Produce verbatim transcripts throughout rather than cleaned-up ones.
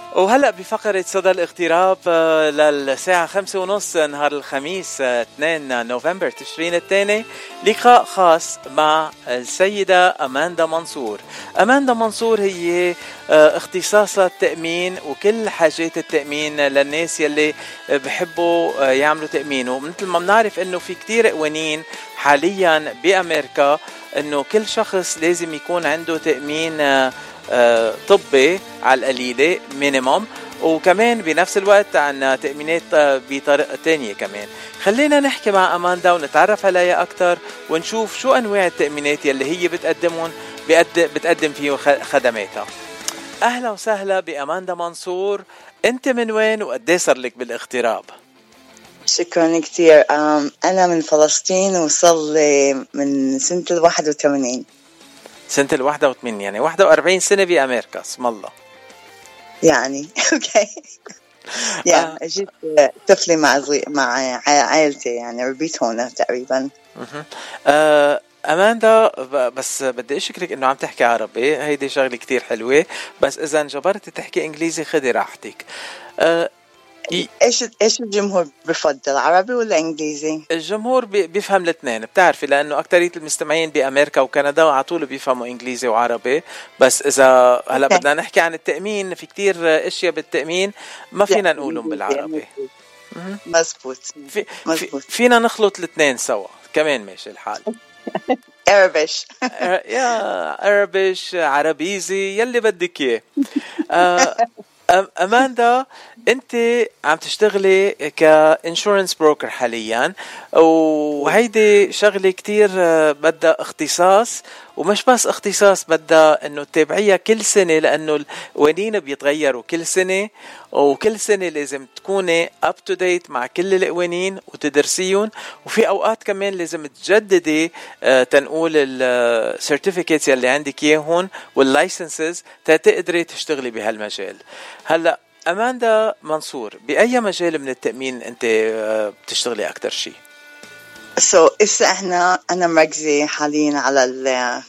وهلأ بفقرة صدى الاغتراب آه، للساعة خمسة ونص نهار الخميس آه، اثنين نوفمبر تشرين الثاني، لقاء خاص مع السيدة أماندا منصور. أماندا منصور هي آه، اختصاصها التأمين وكل حاجات التأمين للناس يلي بحبوا آه، يعملوا تأمين. ومثل ما بنعرف انه في كتير قوانين حاليا بأمريكا انه كل شخص لازم يكون عنده تأمين آه، آه، طبي على القليلة مينيموم، وكمان بنفس الوقت عنا تأمينات آه، بطريقة تانية كمان. خلينا نحكي مع أماندا ونتعرف عليها أكتر ونشوف شو أنواع التأمينات يلي هي بتقدمون بقد- بتقدم فيه خ- خدماتها. أهلا وسهلا بأماندا منصور، أنت من وين وقديه صار لك بالاغتراب؟ شكرا كتير. أم، أنا من فلسطين وصل لي من سنة الواحد وثمانين. سنة الواحدة وثمانين، يعني واحدة وأربعين سنة بأمريكا. اسم الله. يعني أوكي. يا جيت طفلي مع زي... مع عائلتي، يعني ربيت هنا تقريبا. مهم. آه، أماندا، ب- بس بدي أشكرك إنه عم تحكي عربي، هيدي شغلة كتير حلوة، بس إذا انجبرت تحكي إنجليزي خدي راحتك. آه، ي- إيش إيش الجمهور بفضل، عربي ولا إنجليزي؟ الجمهور بي- بيفهم الاثنين، بتعرفي، لأنه أكترية المستمعين بأمريكا وكندا على طول بيفهموا إنجليزي وعربي. بس إذا هلا أوكي. بدنا نحكي عن التأمين، في كتير أشياء بالتأمين ما فينا نقولهم بالعربي. مهم. مزبوط في في مزبوط. فينا نخلط الاثنين سوا كمان، ماشي الحال. Arabic. آه، يا عربيش عربيزي يلي بدك اياه. آه، أم- أماندا، أنت عم تشتغلي كإنشورنس بروكر حاليا، وهيدي شغلة كتير آه، بدها اختصاص، ومش بس اختصاص، بدها أنه تتابعيها كل سنة، لأنه القوانين بيتغيروا كل سنة، وكل سنة لازم تكوني up to date مع كل القوانين وتدرسيهم. وفي أوقات كمان لازم تجددي آه، تنقول السيرتيفيكيتس يلي عندك إياهن واللايسنسز تقدري تشتغلي بهالمجال. هلا أماندا منصور، بأي مجال من التأمين أنت آه، بتشتغلي أكتر شيء؟ So إسا إحنا أنا مركزة حاليا على ال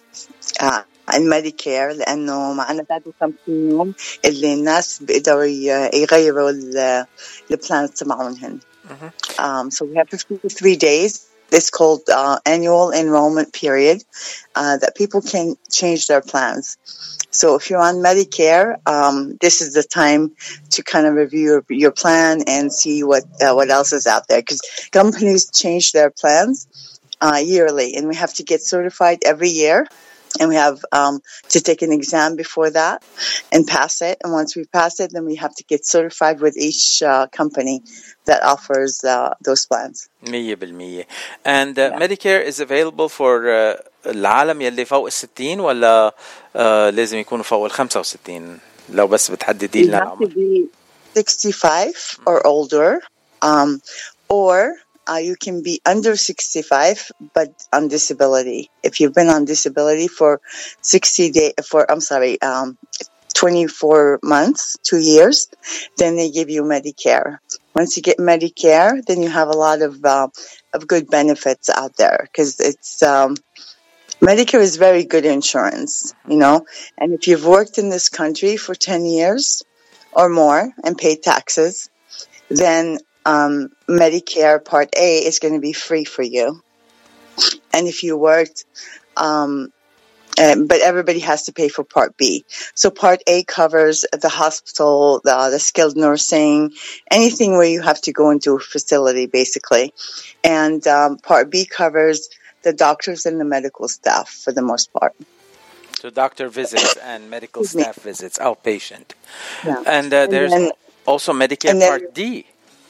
آه، الميديكير، لأنه معنا ثلاثة وخمسين يوم اللي الناس بيقدروا ي- يغيروا ال البلانز تبعونهن. Um, so we have fifty-three days. It's called uh, annual enrollment period uh, that people can change their plans. So if you're on Medicare, um, this is the time to kind of review your, your plan and see what uh, what else is out there, because companies change their plans uh, yearly, and we have to get certified every year. And we have um, to take an exam before that and pass it. And once we pass it, then we have to get certified with each uh, company that offers uh, those plans. مية بالمية. And uh, Yeah. Medicare is available for uh, العالم يلي فوق الستين، ولا uh, لازم يكونوا فوق الخمسة وستين؟ لو بس بتحددي You لنا have to العمر. be sixty-five or older, um, or uh, you can be under sixty-five but on disability. If you've been on disability for sixty days, for I'm sorry, um, twenty-four months, two years, then they give you Medicare. Once you get Medicare, then you have a lot of uh, of good benefits out there, because it's um, Medicare is very good insurance, you know. And if you've worked in this country for ten years or more and paid taxes, then um, Medicare Part A is going to be free for you. And if you worked, um, uh, but everybody has to pay for Part B. So Part A covers the hospital, the, the skilled nursing, anything where you have to go into a facility, basically. And um, Part B covers the doctors and the medical staff for the most part. So doctor visits and medical staff visits, outpatient. Yeah. And uh, there's and then, also Medicare and then, Part D.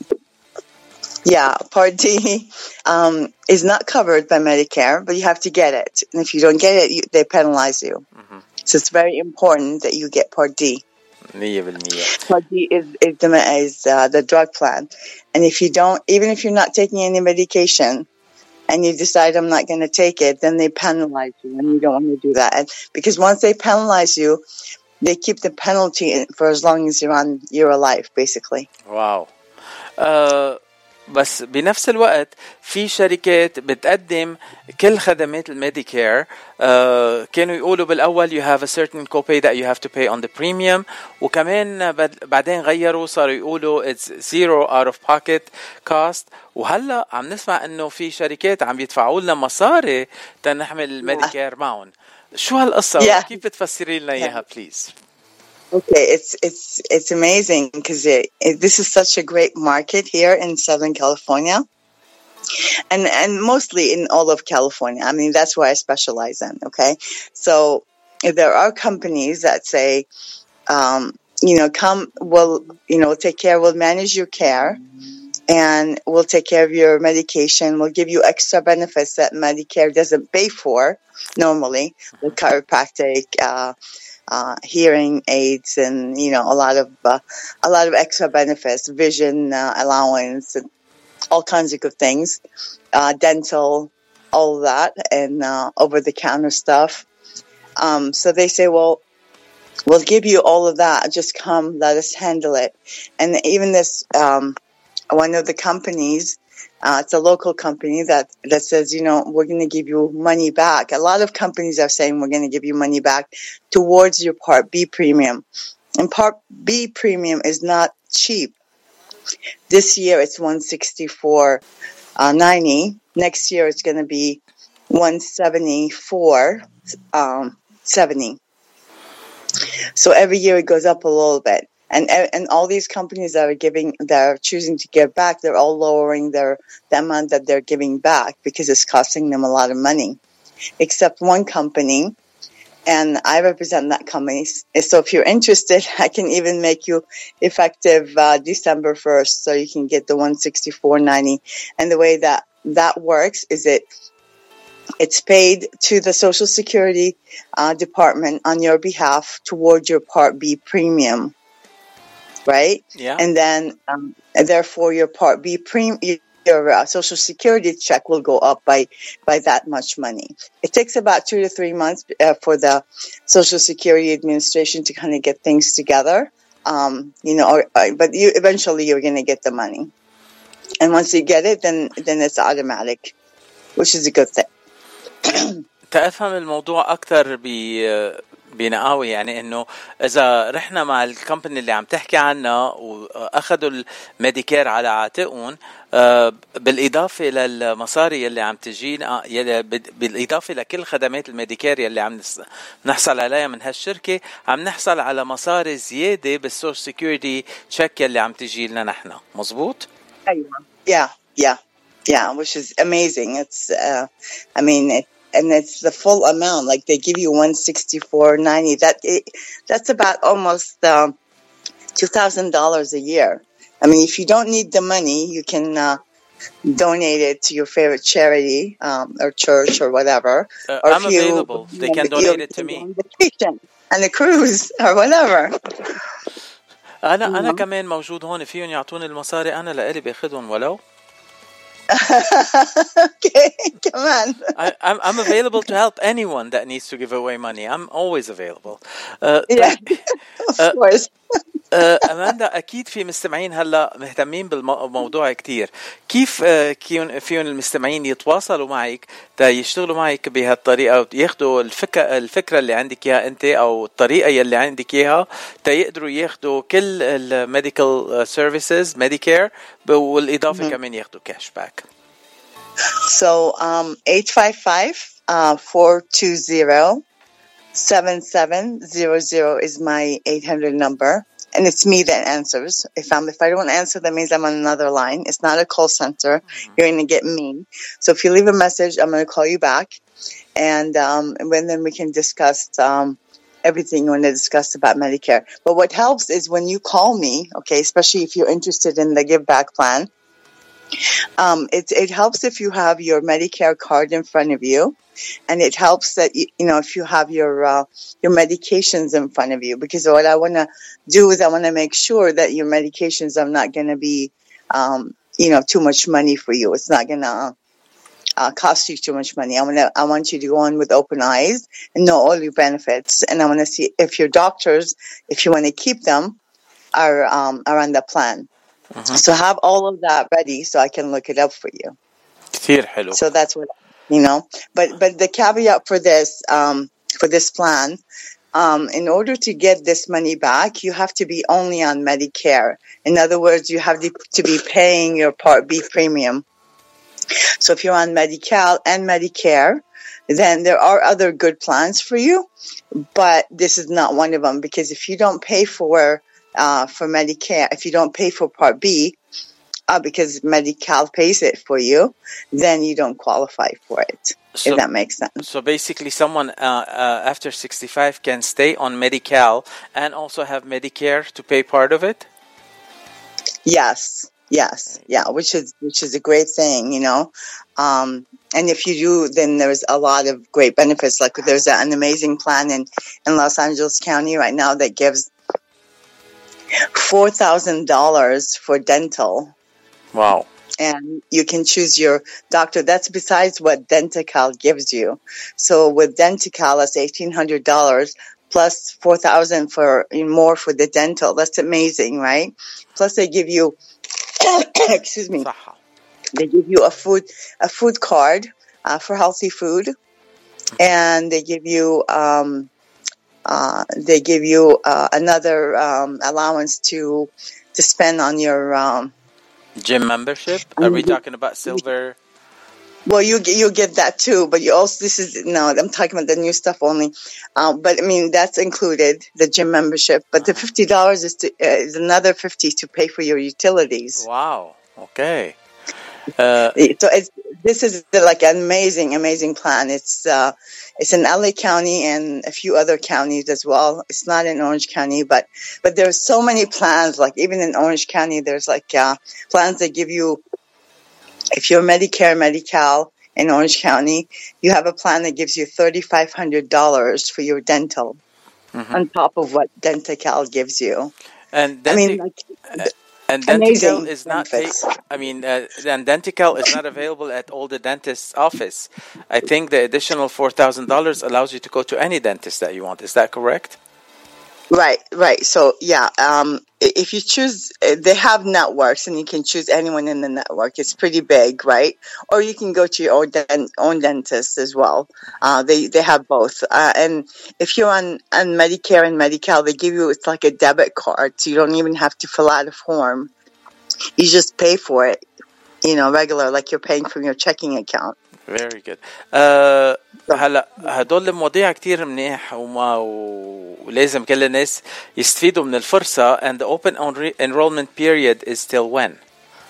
Yeah, Part D um, is not covered by Medicare, but you have to get it. And if you don't get it, you, they penalize you. Mm-hmm. So it's very important that you get Part D. مية بالمية. Part D is, is, the, is uh, the drug plan. And if you don't, even if you're not taking any medication, and you decide I'm not going to take it, then they penalize you, and you don't want to do that. And because once they penalize you, they keep the penalty for as long as you're on you're alive, basically. Wow. Uh, بس بنفس الوقت في شركات بتقدم كل خدمات الميديكير. uh, كانوا يقولوا بالأول you have a certain copay that you have to pay on the premium, وكمان بعدين غيروا صاروا يقولوا it's zero out of pocket cost. وهلأ عم نسمع انه في شركات عم يدفعوا لنا مصاري تنحمل الميديكير معهم. شو هالقصة؟ yeah. كيف بتفسري لنا اياها yeah. please? Okay, it's it's it's amazing because it, it, this is such a great market here in Southern California, and and mostly in all of California. I mean, that's where I specialize in. Okay, so there are companies that say, um, you know, come, we'll you know take care, we'll manage your care, and we'll take care of your medication. We'll give you extra benefits that Medicare doesn't pay for normally, the chiropractic. Uh, Uh, hearing aids, and you know a lot of uh, a lot of extra benefits, vision uh, allowance, and all kinds of good things, uh, dental, all of that, and uh, over the counter stuff. Um, so they say, well, we'll give you all of that. Just come, let us handle it. And even this, um, one of the companies. Uh, it's a local company that, that says, you know, we're going to give you money back. A lot of companies are saying we're going to give you money back towards your Part B premium. And Part B premium is not cheap. This year it's one sixty-four ninety. Next year it's going to be one seventy-four seventy. So every year it goes up a little bit. And and all these companies that are giving, that are choosing to give back, they're all lowering their the amount that they're giving back because it's costing them a lot of money. Except one company, and I represent that company. So if you're interested, I can even make you effective uh, December first, so you can get the one sixty-four ninety. And the way that that works is it it's paid to the Social Security uh, Department on your behalf toward your Part B premium. Right? Yeah. And then, um, and therefore, your Part B premium, your uh, Social Security check will go up by by that much money. It takes about two to three months uh, for the Social Security Administration to kind of get things together. Um, you know, or, or, but you eventually you're going to get the money, and once you get it, then then it's automatic, which is a good thing. تفهم الموضوع أكثر ب بنقاوي، يعني انه اذا رحنا مع الكمباني اللي عم تحكي عنها واخذوا الميديكير على عاتقهم بالاضافه للمصاري اللي عم تجينا، بالاضافه لكل خدمات الميديكير اللي عم نحصل عليها من هالشركه، عم نحصل على مصاري زياده بالسوشيال سيكيورتي تشيك اللي عم تجي لنا نحن. مزبوط؟ ايوه. yeah yeah yeah which is amazing. It's uh, I mean it, and it's the full amount. Like they give you one sixty-four ninety. That it, that's about almost um, two thousand dollars a year. I mean, if you don't need the money, you can uh, donate it to your favorite charity um, or church or whatever. Uh, or I'm if you, available. They can donate it to me. On vacation and a cruise or whatever. أنا mm-hmm. أنا كمان موجود هون، فيهم يعطوني المصاري أنا لإلي باخدهم ولو. Okay, come on. I, I'm, I'm available to help anyone that needs to give away money. I'm always available. Uh, yeah, of course. أماندا، أكيد في مستمعين هلا مهتمين بالموضوع كتير. كيف فيهم المستمعين يتواصلوا معك تا يشتغلوا معك بهالطريقة وياخدوا الفكرة الفكرة اللي عندك إياها أنت أو الطريقة اللي عندك إياها تا يقدروا ياخدوا كل الميديكال سيرفيسز ميديكير والإضافة mm-hmm. كمان ياخدوا كاش باك. So um, eight five five four two zero seven seven zero zero is my eight hundred number. And it's me that answers. If I'm, if I don't answer, that means I'm on another line. It's not a call center. Mm-hmm. You're going to get me. So if you leave a message, I'm going to call you back. And, um, and then we can discuss, um, everything you want to discuss about Medicare. But what helps is when you call me, okay, especially if you're interested in the Give Back plan, um, it, it helps if you have your Medicare card in front of you. And it helps that, you, you know, if you have your, uh, your medications in front of you, because what I want to do is I want to make sure that your medications are not going to be, um, you know, too much money for you. It's not going to uh, cost you too much money. I want to, I want you to go in with open eyes and know all your benefits. And I want to see if your doctors, if you want to keep them, are, um, are on the plan. Mhm. So have all of that ready so I can look it up for you. كثير حلو. So that's what, you know, but, but the caveat for this, um, for this plan, um, in order to get this money back, you have to be only on Medicare. In other words, you have to, to be paying your Part B premium. So if you're on Medi-Cal and Medicare, then there are other good plans for you, but this is not one of them, because if you don't pay for, uh, for Medicare, if you don't pay for Part B, uh, because Medi-Cal pays it for you, then you don't qualify for it. So, if that makes sense. So basically someone uh, uh, after sixty-five can stay on Medi-Cal and also have Medicare to pay part of it? Yes. Yes. Yeah. Which is, which is a great thing, you know. Um, and if you do, then there's a lot of great benefits. Like there's an amazing plan in, in Los Angeles County right now that gives four thousand dollars for dental. Wow. And you can choose your doctor. That's besides what Denti-Cal gives you. So with Denti-Cal, that's eighteen hundred dollars plus four thousand dollars for more for the dental. That's amazing, right? Plus they give you, excuse me, صح. they give you a food, a food card uh, for healthy food. And they give you, um, uh, they give you uh, another um, allowance to, to spend on your, um, gym membership? Are we talking about silver? Well, you you get that too, but you also, this is, no, I'm talking about the new stuff only. Um, but I mean, that's included, the gym membership. But the fifty dollars is to, uh, is another fifty to pay for your utilities. Wow. Okay. Uh, so it's, this is like an amazing, amazing plan. It's, uh, it's in L A County and a few other counties as well. It's not in Orange County, but, but there's so many plans, like even in Orange County, there's like, uh, plans that give you, if you're Medicare, Medi-Cal in Orange County, you have a plan that gives you thirty-five hundred dollars for your dental, mm-hmm. on top of what Denti-Cal gives you. And Denti- I mean, like, uh, and Denti-Cal is not. Ta- I mean, uh, and Denti-Cal is not available at all the dentist's office. I think the additional four thousand dollars allows you to go to any dentist that you want. Is that correct? Right, right. So, yeah, um, if you choose, they have networks and you can choose anyone in the network. It's pretty big, right? Or you can go to your own, den- own dentist as well. Uh, they, they have both. Uh, and if you're on, on Medicare and Medi-Cal, they give you, it's like a debit card. So you don't even have to fill out a form. You just pay for it, you know, regular, like you're paying from your checking account. Very good. Uh, هلا هدول المواضيع كتير منيح وما ولازم كل الناس يستفيدوا من الفرصة. And the open enrollment period is till when?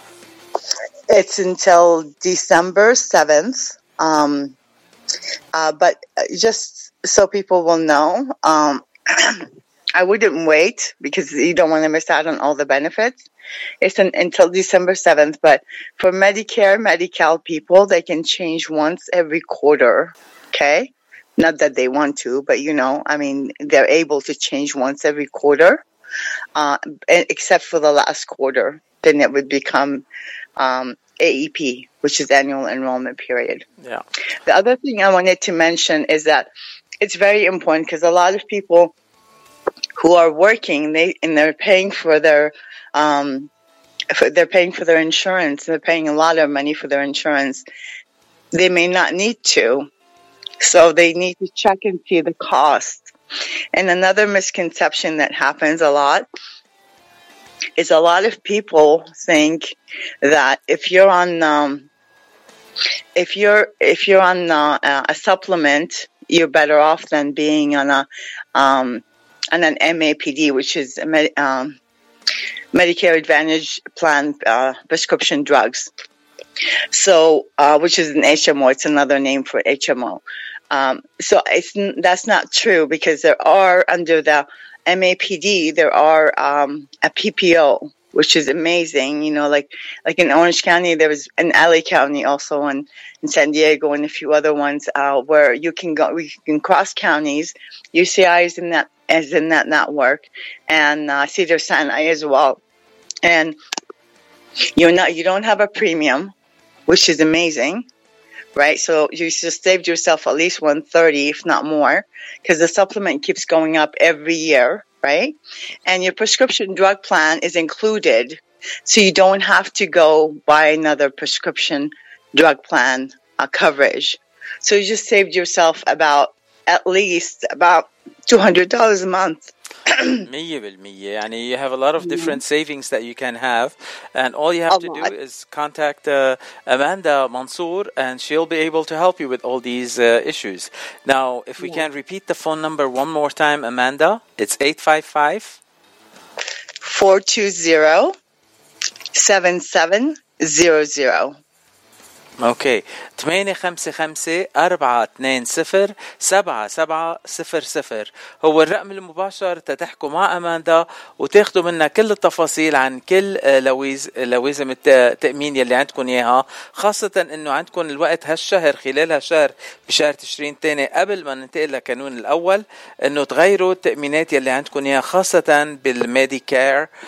It's until December seventh. Um, uh, but just so people will know, um, I wouldn't wait because you don't want to miss out on all the benefits. It's an, until December seventh, but for Medicare, Medi-Cal people, they can change once every quarter, okay? Not that they want to, but, you know, I mean, they're able to change once every quarter, uh, except for the last quarter. Then it would become um, A E P, which is annual enrollment period. Yeah. The other thing I wanted to mention is that it's very important because a lot of people who are working, they and they're paying for their, um, for, they're paying for their insurance. They're paying a lot of money for their insurance. They may not need to, so they need to check and see the cost. And another misconception that happens a lot is a lot of people think that if you're on, um, if you're if you're on uh, a supplement, you're better off than being on a um, on an M A P D, which is a Med- um, Medicare Advantage Plan uh, prescription drugs. So, uh, which is an H M O. It's another name for H M O. Um, so it's that's not true because there are under the M A P D there are um, a P P O, which is amazing. You know, like like in Orange County, there was in L A County also, and in San Diego and a few other ones uh, where you can go, we can cross counties. U C I is in that is in that network, and uh, Cedars-Sinai as well. And you're not you don't have a premium, which is amazing, right? So you just saved yourself at least one hundred thirty, if not more, because the supplement keeps going up every year, right? And your prescription drug plan is included So you don't have to go buy another prescription drug plan uh, coverage. So you just saved yourself about at least about two hundred dollars a month. مية بالمية. يعني you have a lot of different savings that you can have, and all you have A to do lot. is contact uh, Amanda Mansour, and she'll be able to help you with all these uh, issues. Now, if we Yeah. can repeat the phone number one more time, Amanda, it's eight five five, four two zero, seven seven zero zero. اوكي ثمانية خمسة خمسة أربعة اثنين صفر سبعة سبعة صفر صفر هو الرقم المباشر تتحكوا مع أماندا وتاخدوا منها كل التفاصيل عن كل لويز لوازم التأمين يلي عندكم إياها، خاصة إنه عندكم الوقت هالشهر خلال هالشهر بشهر تشرين الثاني قبل ما ننتقل لكانون الأول إنه تغيروا التأمينات يلي عندكم إياها، خاصة بالميديكير آه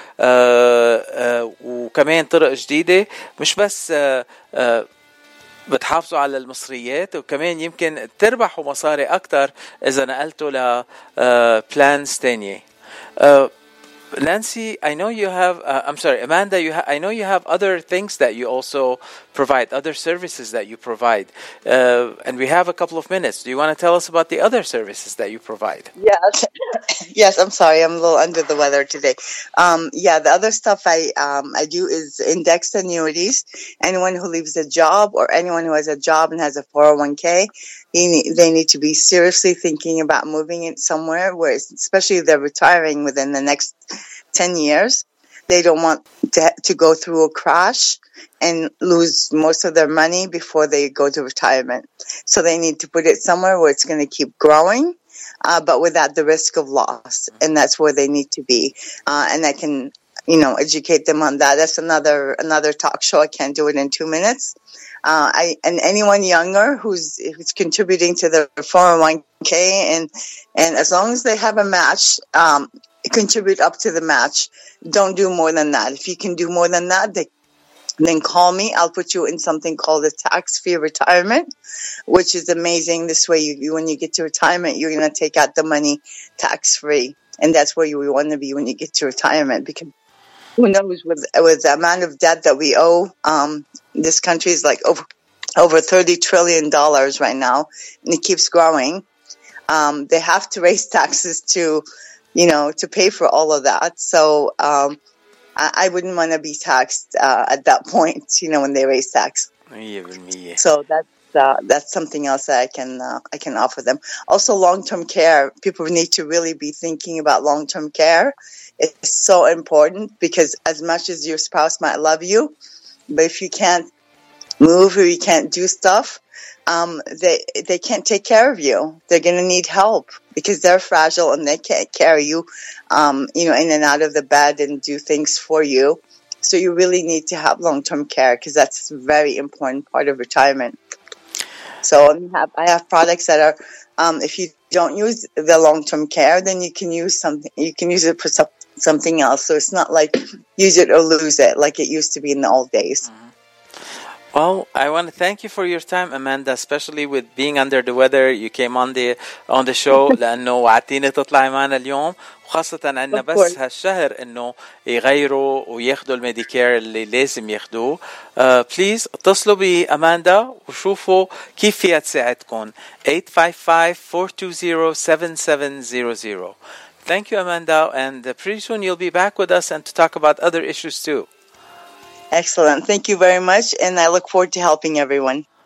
آه وكمان طرق جديدة مش بس آه آه بتحافظوا على المصريات وكمان يمكن تربحوا مصاري أكتر إذا نقلتوا ل plans تانية. Nancy, I know you have, uh, I'm sorry, Amanda, you ha- I know you have other things that you also provide, other services that you provide. Uh, and we have a couple of minutes. Do you want to tell us about the other services that you provide? Yes. Yes, I'm sorry. I'm a little under the weather today. Um, yeah, the other stuff I um, I do is indexed annuities. Anyone who leaves a job or anyone who has a job and has a four oh one k, he need, they need to be seriously thinking about moving it somewhere where, it's, especially if they're retiring within the next ten years. They don't want to, to go through a crash and lose most of their money before they go to retirement. So they need to put it somewhere where it's going to keep growing. Uh, but without the risk of loss, and that's where they need to be. Uh, and I can, you know, educate them on that. That's another another talk show. I can't do it in two minutes. Uh, I and anyone younger who's who's contributing to the four oh one k, and and as long as they have a match, um, contribute up to the match. Don't do more than that. If you can do more than that, they. Then call me. I'll put you in something called a tax-free retirement, which is amazing. This way, you, you when you get to retirement, you're going to take out the money tax-free. And that's where you want to be when you get to retirement. Because who knows, with, with the amount of debt that we owe, um, this country is like over, over thirty trillion dollars right now, and it keeps growing. Um, they have to raise taxes to, you know, to pay for all of that. So, um, I wouldn't want to be taxed uh, at that point, you know, when they raise tax. So that's uh, that's something else that I can uh, I can offer them. Also, long-term care. People need to really be thinking about long-term care. It's so important because as much as your spouse might love you, but if you can't move or you can't do stuff, um, they they can't take care of you. They're going to need help because they're fragile and they can't carry you, um, you know, in and out of the bed and do things for you. So you really need to have long-term care because that's a very important part of retirement. So I have, I have products that are, um, if you don't use the long-term care, then you can use something. You can use it for some, something else. So it's not like use it or lose it like it used to be in the old days. Mm-hmm. Well, I want to thank you for your time, Amanda, especially with being under the weather. You came on the on the show لأنه وعدتيني تطلعي معنا اليوم، وخاصة عندنا بس هالشهر إنه يغيروا وياخدوا الميديكير اللي لازم ياخدوه. uh, please اتصلوا بأماندا وشوفوا كيف فيها تساعدكم. eight five five, four two zero, seven seven zero zero. Thank you, Amanda, and pretty soon you'll be back with us and to talk about other issues too. Excellent. Thank you very much, and I look forward to helping everyone.